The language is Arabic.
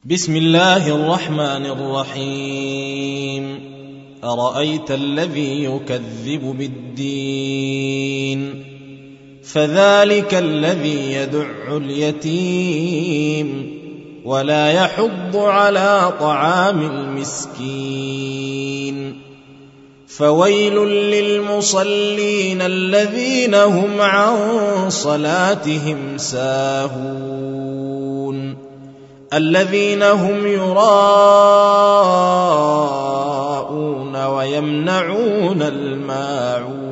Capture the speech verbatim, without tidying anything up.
بسم الله الرحمن الرحيم. أرأيت الذي يكذب بالدين فذلك الذي يدع اليتيم ولا يحض على طعام المسكين فويل للمصلين الذين هم عن صلاتهم ساهون الذين هم يراءون ويمنعون الماعون